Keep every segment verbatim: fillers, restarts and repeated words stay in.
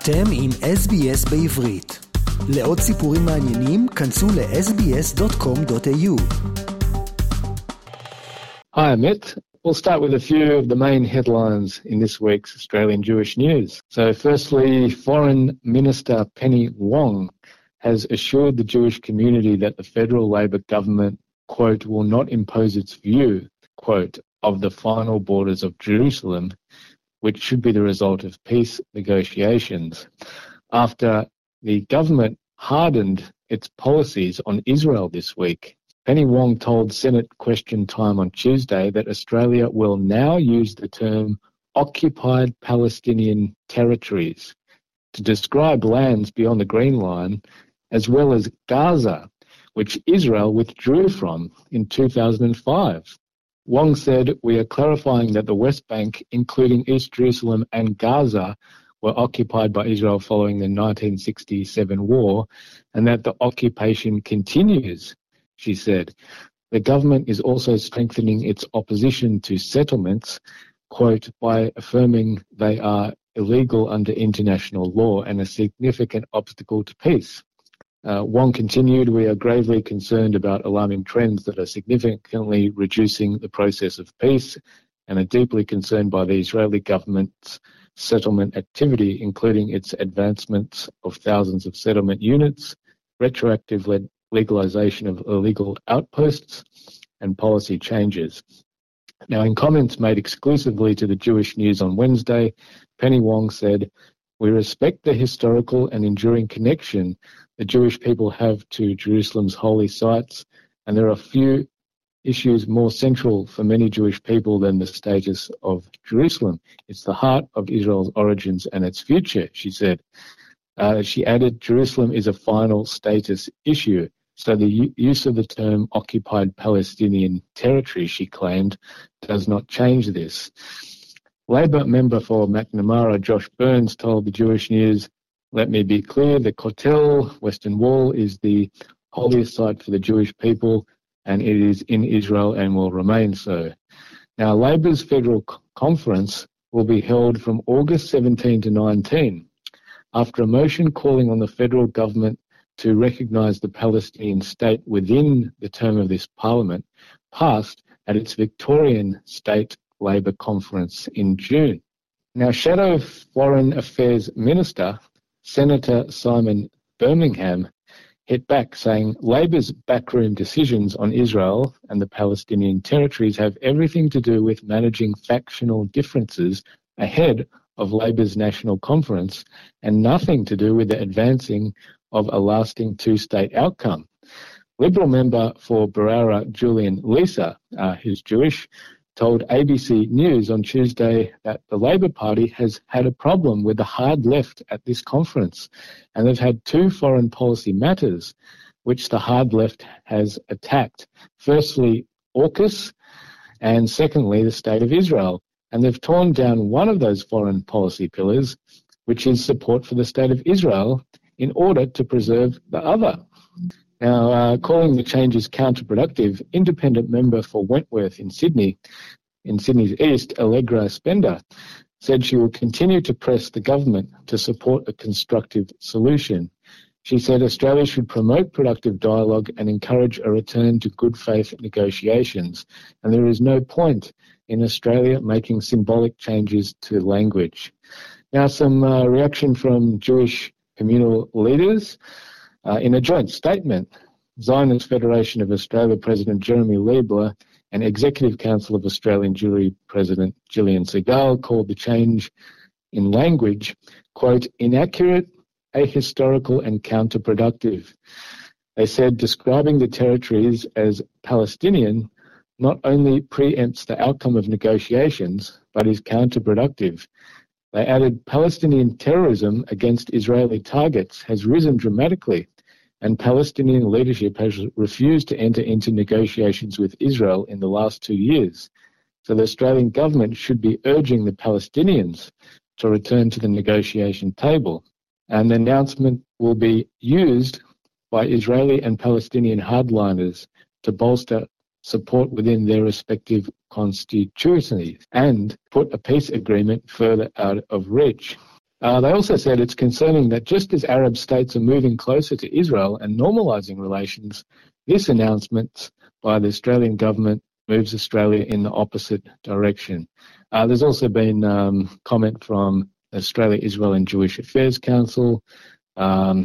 אתם עם אס בי אס בעברית. לעוד סיפורים מעניינים, כנסו ל-אס בי אס דוט קום דוט איי יו. Hi, Amit. We'll start with a few of the main headlines in this week's Australian Jewish news. So firstly, Foreign Minister Penny Wong has assured the Jewish community that the federal Labor government, quote, will not impose its view, quote, of the final borders of Jerusalem, which should be the result of peace negotiations, after the government hardened its policies on Israel this week. Penny Wong told Senate Question Time on Tuesday that Australia will now use the term occupied Palestinian territories to describe lands beyond the Green Line, as well as Gaza, which Israel withdrew from in two thousand five. Wong said, "We are clarifying that the West Bank, including East Jerusalem and Gaza, were occupied by Israel following the nineteen sixty-seven war, and that the occupation continues," she said. The government is also strengthening its opposition to settlements, quote, by affirming they are illegal under international law and a significant obstacle to peace. Uh, Wong continued, "We are gravely concerned about alarming trends that are significantly reducing the process of peace and are deeply concerned by the Israeli government's settlement activity, including its advancements of thousands of settlement units, retroactive le- legalization of illegal outposts, and policy changes." Now, in comments made exclusively to the Jewish News on Wednesday, Penny Wong said, "We respect the historical and enduring connection the Jewish people have to Jerusalem's holy sites, and there are few issues more central for many Jewish people than the status of Jerusalem. It's the heart of Israel's origins and its future," she said. Uh, she added, "Jerusalem is a final status issue, so the u- use of the term occupied Palestinian territory," she claimed, "does not change this." Labor member for McNamara, Josh Burns, told the Jewish News, "Let me be clear, the Kotel, Western Wall, is the holiest site for the Jewish people, and it is in Israel and will remain so." Now, Labor's federal c- conference will be held from August seventeenth to nineteenth, after a motion calling on the federal government to recognise the Palestinian state within the term of this parliament passed at its Victorian State Labor Conference in June. Now, Shadow Foreign Affairs Minister Senator Simon Birmingham hit back, saying Labor's backroom decisions on Israel and the Palestinian territories have everything to do with managing factional differences ahead of Labor's national conference and nothing to do with the advancing of a lasting two-state outcome. Liberal member for Barara, Julian Lisa, uh, who's Jewish, told A B C News on Tuesday that the Labor Party has had a problem with the hard left at this conference, and they've had two foreign policy matters which the hard left has attacked. Firstly, AUKUS, and secondly, the State of Israel. And they've torn down one of those foreign policy pillars, which is support for the State of Israel, in order to preserve the other. Now, uh, calling the changes counterproductive, independent member for Wentworth in Sydney, in Sydney's East, Allegra Spender, said she will continue to press the government to support a constructive solution. She said Australia should promote productive dialogue and encourage a return to good faith negotiations, and there is no point in Australia making symbolic changes to language. Now, some uh, reaction from Jewish communal leaders. Uh, in a joint statement, Zionist Federation of Australia President Jeremy Liebler and Executive Council of Australian Jewry President Gillian Segal called the change in language, quote, inaccurate, ahistorical and counterproductive. They said describing the territories as Palestinian not only preempts the outcome of negotiations, but is counterproductive. They added Palestinian terrorism against Israeli targets has risen dramatically, and Palestinian leadership has refused to enter into negotiations with Israel in the last two years. So the Australian government should be urging the Palestinians to return to the negotiation table. And the announcement will be used by Israeli and Palestinian hardliners to bolster support within their respective constituencies and put a peace agreement further out of reach. Uh, they also said it's concerning that just as Arab states are moving closer to Israel and normalising relations, this announcement by the Australian government moves Australia in the opposite direction. Uh, there's also been um, comment from Australia, Israel and Jewish Affairs Council. Um,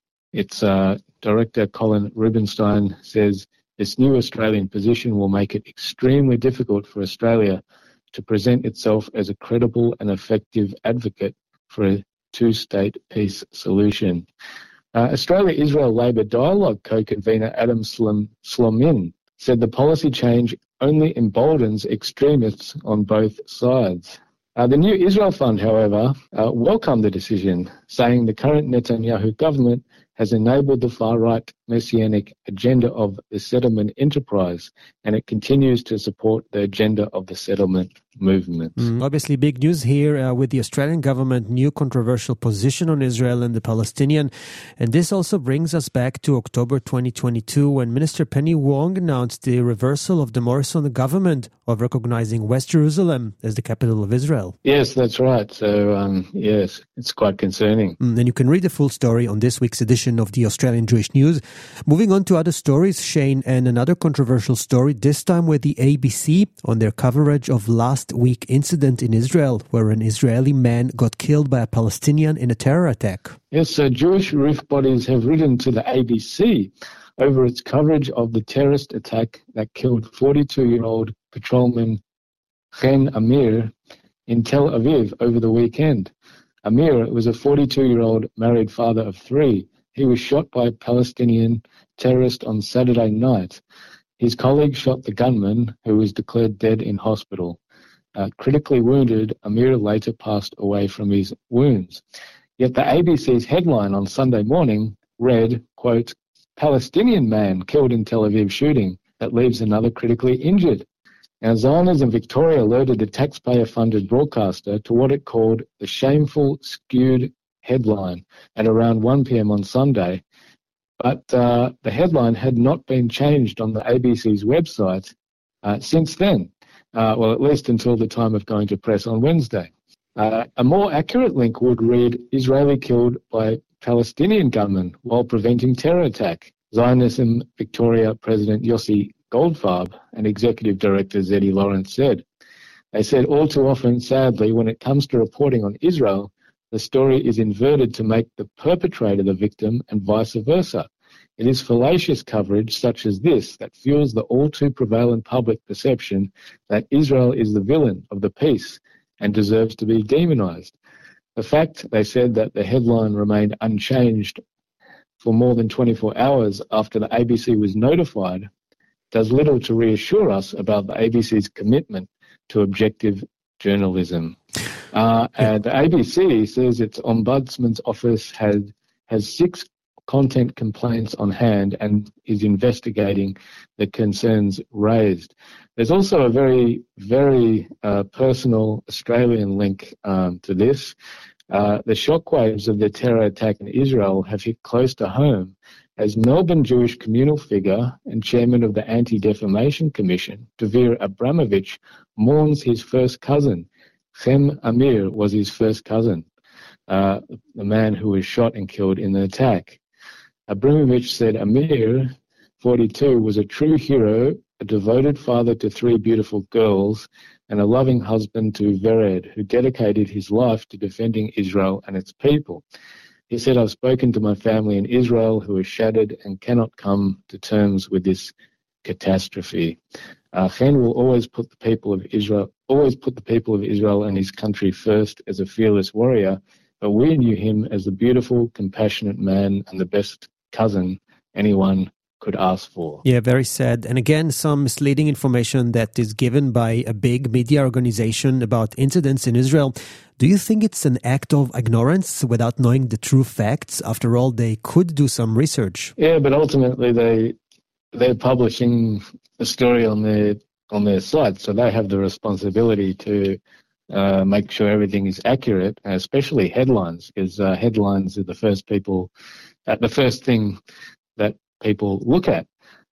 its uh, director, Colin Rubenstein, says this new Australian position will make it extremely difficult for Australia to present itself as a credible and effective advocate for a two-state peace solution. Uh, Australia-Israel Labor Dialogue co-convener Adam Slom- Slomin said the policy change only emboldens extremists on both sides. Uh, the new Israel Fund, however, uh, welcomed the decision, saying the current Netanyahu government has enabled the far-right messianic agenda of the settlement enterprise, and it continues to support the agenda of the settlement movement. Mm, obviously, big news here uh, with the Australian government new controversial position on Israel and the Palestinian. And this also brings us back to October twenty twenty-two, when Minister Penny Wong announced the reversal of the Morrison government of recognizing West Jerusalem as the capital of Israel. Yes, that's right. So, um, yes, it's quite concerning. Mm, and you can read the full story on this week's edition of the Australian Jewish News. Moving on to other stories, Shane, and another controversial story, this time with the A B C on their coverage of last week incident in Israel, where an Israeli man got killed by a Palestinian in a terror attack. Yes, so Jewish relief bodies have written to the A B C over its coverage of the terrorist attack that killed forty-two-year-old patrolman Chen Amir in Tel Aviv over the weekend. Amir was a forty-two-year-old married father of three. He was shot by a Palestinian terrorist on Saturday night. His colleague shot the gunman, who was declared dead in hospital. Uh, critically wounded, Amir later passed away from his wounds. Yet the A B C's headline on Sunday morning read, quote, Palestinian man killed in Tel Aviv shooting that leaves another critically injured. Now, Zionism Victoria alerted the taxpayer-funded broadcaster to what it called the shameful, skewed headline at around one p.m. on Sunday, but uh, the headline had not been changed on the A B C's website uh, since then, uh, well, at least until the time of going to press on Wednesday. Uh, a more accurate link would read, Israeli killed by Palestinian gunman while preventing terror attack. Zionism Victoria President Yossi Goldfarb and Executive Director Zeddy Lawrence said. They said all too often, sadly, when it comes to reporting on Israel, the story is inverted to make the perpetrator the victim and vice versa. It is fallacious coverage such as this that fuels the all too prevalent public perception that Israel is the villain of the peace and deserves to be demonized. The fact, they said, that the headline remained unchanged for more than twenty-four hours after the A B C was notified does little to reassure us about the A B C's commitment to objective journalism. Uh, and the A B C says its Ombudsman's office had has six content complaints on hand and is investigating the concerns raised. There's also a very, very uh, personal Australian link um, to this. Uh, the shockwaves of the terror attack in Israel have hit close to home as Melbourne Jewish communal figure and chairman of the Anti-Defamation Commission, Dovir Abramovich, mourns his first cousin. Chen Amir was his first cousin, uh, the man who was shot and killed in the attack. Abramovich said Amir, forty-two, was a true hero, a devoted father to three beautiful girls, and a loving husband to Vered, who dedicated his life to defending Israel and its people. He said, I've spoken to my family in Israel who are shattered and cannot come to terms with this catastrophe. Uh, Chen will always put the people of Israel, always put the people of Israel and his country first as a fearless warrior, but we knew him as a beautiful, compassionate man and the best cousin anyone could ask for. Yeah, very sad. And again, some misleading information that is given by a big media organization about incidents in Israel. Do you think it's an act of ignorance without knowing the true facts? After all, they could do some research. Yeah, but ultimately they they're publishing a story on their on their site, so they have the responsibility to uh, make sure everything is accurate, especially headlines, because uh, headlines are the first people, uh, the first thing that people look at.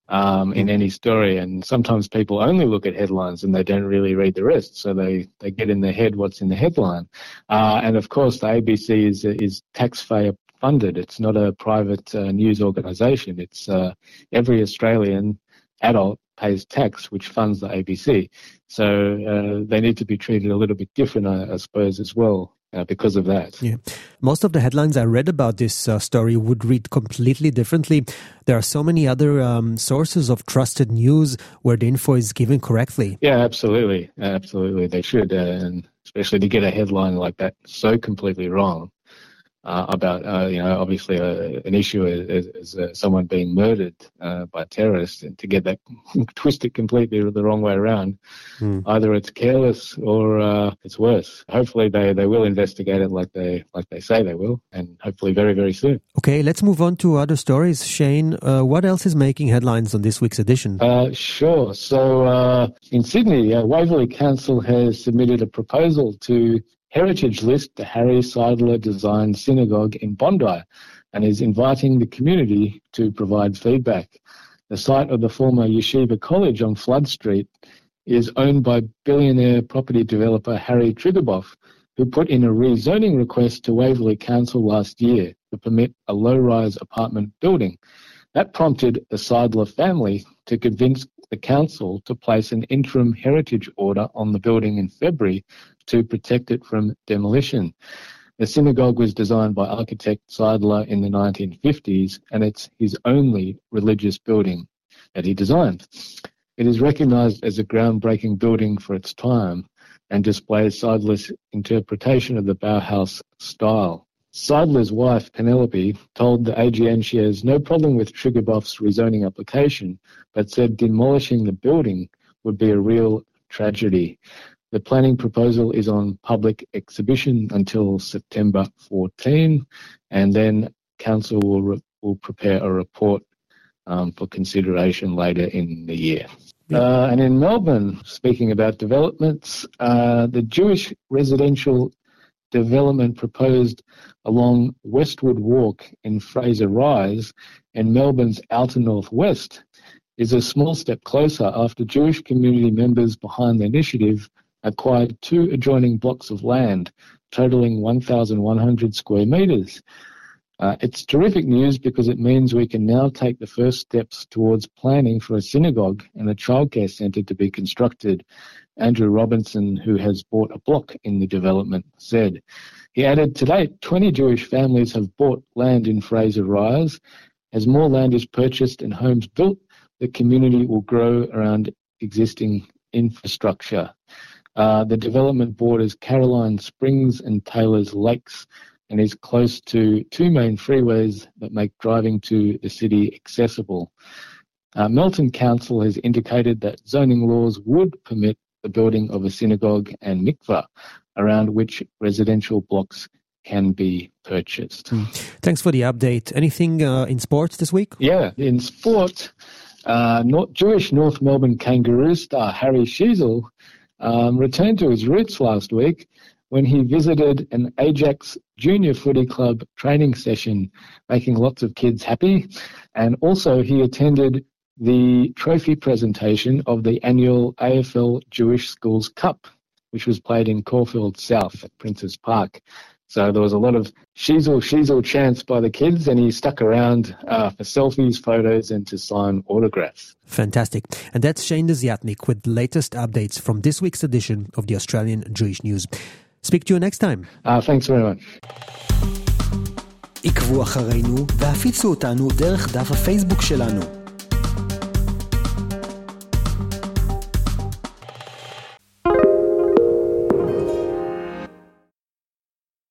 um, in any story. And sometimes people only look at headlines and they don't really read the rest. So they, they get in their head what's in the headline. Uh, and of course, the A B C is, is taxpayer funded. It's not a private uh, news organisation. It's uh, every Australian adult pays tax, which funds the A B C. So uh, they need to be treated a little bit different, I, I suppose, as well, uh, because of that. Yeah. Most of the headlines I read about this uh, story would read completely differently. There are so many other um, sources of trusted news where the info is given correctly. Yeah, absolutely. Absolutely. They should, uh, and especially to get a headline like that so completely wrong. Uh, about, uh, you know, obviously uh, an issue is, is uh, someone being murdered uh, by terrorists, and to get that twisted completely the wrong way around, mm. either it's careless or uh, it's worse. Hopefully they, they will investigate it like they like they say they will, and hopefully very, very soon. Okay, let's move on to other stories. Shane, uh, what else is making headlines on this week's edition? Uh, sure. So uh, in Sydney, uh, Waverley Council has submitted a proposal to Heritage list the Harry Seidler designed synagogue in Bondi, and is inviting the community to provide feedback. The site of the former Yeshiva College on Flood Street is owned by billionaire property developer Harry Triguboff, who put in a rezoning request to Waverley Council last year to permit a low-rise apartment building. That prompted the Seidler family to convince the council to place an interim heritage order on the building in February to protect it from demolition. The synagogue was designed by architect Seidler in the nineteen fifties, and it's his only religious building that he designed. It is recognised as a groundbreaking building for its time and displays Seidler's interpretation of the Bauhaus style. Seidler's wife, Penelope, told the A G N she has no problem with Triguboff's rezoning application, but said demolishing the building would be a real tragedy. The planning proposal is on public exhibition until September fourteenth, and then Council will re- will prepare a report um, for consideration later in the year. Uh, and in Melbourne, speaking about developments, uh, the Jewish residential development proposed along Westwood Walk in Fraser Rise and Melbourne's outer northwest is a small step closer after Jewish community members behind the initiative acquired two adjoining blocks of land, totaling one thousand one hundred square metres. Uh, it's terrific news because it means we can now take the first steps towards planning for a synagogue and a childcare centre to be constructed, Andrew Robinson, who has bought a block in the development, said. He added, to date, twenty Jewish families have bought land in Fraser Rise. As more land is purchased and homes built, the community will grow around existing infrastructure. Uh, the development borders Caroline Springs and Taylor's Lakes and is close to two main freeways that make driving to the city accessible. Uh, Melton Council has indicated that zoning laws would permit the building of a synagogue and mikveh, around which residential blocks can be purchased. Mm. Thanks for the update. Anything uh, in sports this week? Yeah, in sport, uh, North, Jewish North Melbourne Kangaroo star Harry Sheezel um, returned to his roots last week when he visited an Ajax Junior Footy Club training session, making lots of kids happy. And also he attended the trophy presentation of the annual A F L Jewish Schools Cup, which was played in Caulfield South at Princes Park. So there was a lot of Sheezel, Sheezel chants by the kids, and he stuck around uh, for selfies, photos, and to sign autographs. Fantastic. And that's Shane Desiatnik with the latest updates from this week's edition of the Australian Jewish News. Speak to you next time. Uh, thanks very much. עקבו אחרינו והפיצו אותנו דרך דף הפייסבוק שלנו.